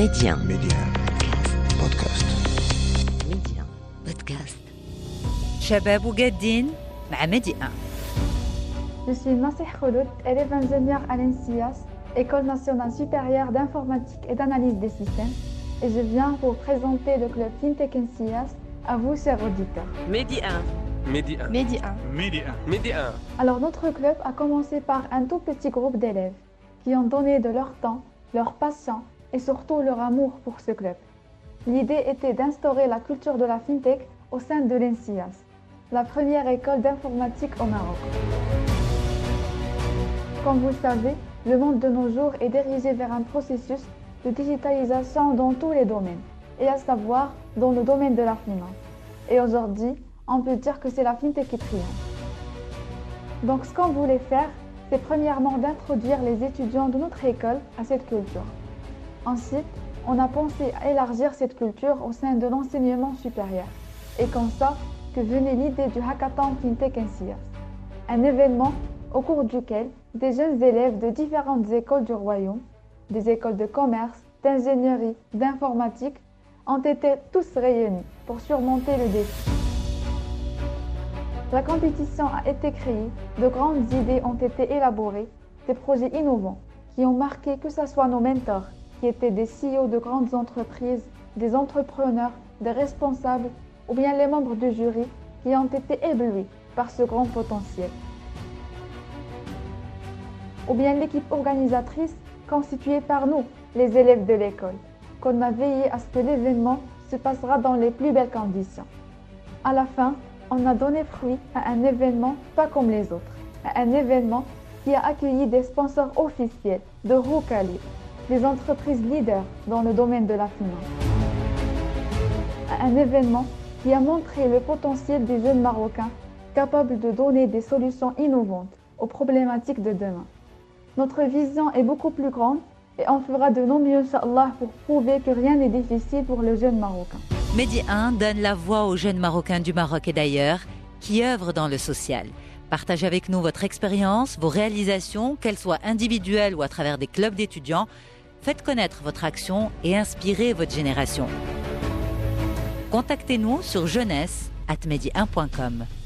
Média بودكاست. ميديا بودكاست. شباب وجادين مع ميديا. Je suis Nassih Khouloud, élève ingénieur à l'ENSIAS, École nationale supérieure d'informatique et d'analyse des systèmes, et je viens pour présenter le club FinTech NCIAS à vous, chers auditeurs. Média. Alors, notre club a commencé par un tout petit groupe d'élèves qui ont donné de leur temps, leur passion et surtout leur amour pour ce club. L'idée était d'instaurer la culture de la FinTech au sein de l'ENSIAS, la première école d'informatique au Maroc. Comme vous le savez, le monde de nos jours est dirigé vers un processus de digitalisation dans tous les domaines, et à savoir dans le domaine de la finance. Et aujourd'hui, on peut dire que c'est la FinTech qui triomphe. Donc ce qu'on voulait faire, c'est premièrement d'introduire les étudiants de notre école à cette culture. Ensuite, on a pensé à élargir cette culture au sein de l'enseignement supérieur. Et comme ça, que venait l'idée du Hackathon FinTech NCIAS, un événement au cours duquel des jeunes élèves de différentes écoles du royaume, des écoles de commerce, d'ingénierie, d'informatique, ont été tous réunis pour surmonter le défi. La compétition a été créée, de grandes idées ont été élaborées, des projets innovants qui ont marqué que ce soit nos mentors, qui étaient des CEO de grandes entreprises, des entrepreneurs, des responsables, ou bien les membres du jury qui ont été éblouis par ce grand potentiel. Ou bien l'équipe organisatrice constituée par nous, les élèves de l'école, qu'on a veillé à ce que l'événement se passera dans les plus belles conditions. À la fin, on a donné fruit à un événement pas comme les autres, à un événement qui a accueilli des sponsors officiels de haut calibre, des entreprises leaders dans le domaine de la finance. À un événement qui a montré le potentiel des jeunes Marocains capables de donner des solutions innovantes aux problématiques de demain. Notre vision est beaucoup plus grande et on fera de nos mieux, Inch'Allah, pour prouver que rien n'est difficile pour le jeune Marocain. Média 1 donne la voix aux jeunes Marocains du Maroc et d'ailleurs qui œuvrent dans le social. Partagez avec nous votre expérience, vos réalisations, qu'elles soient individuelles ou à travers des clubs d'étudiants. Faites connaître votre action et inspirez votre génération. Contactez-nous sur jeunesse@media1.com.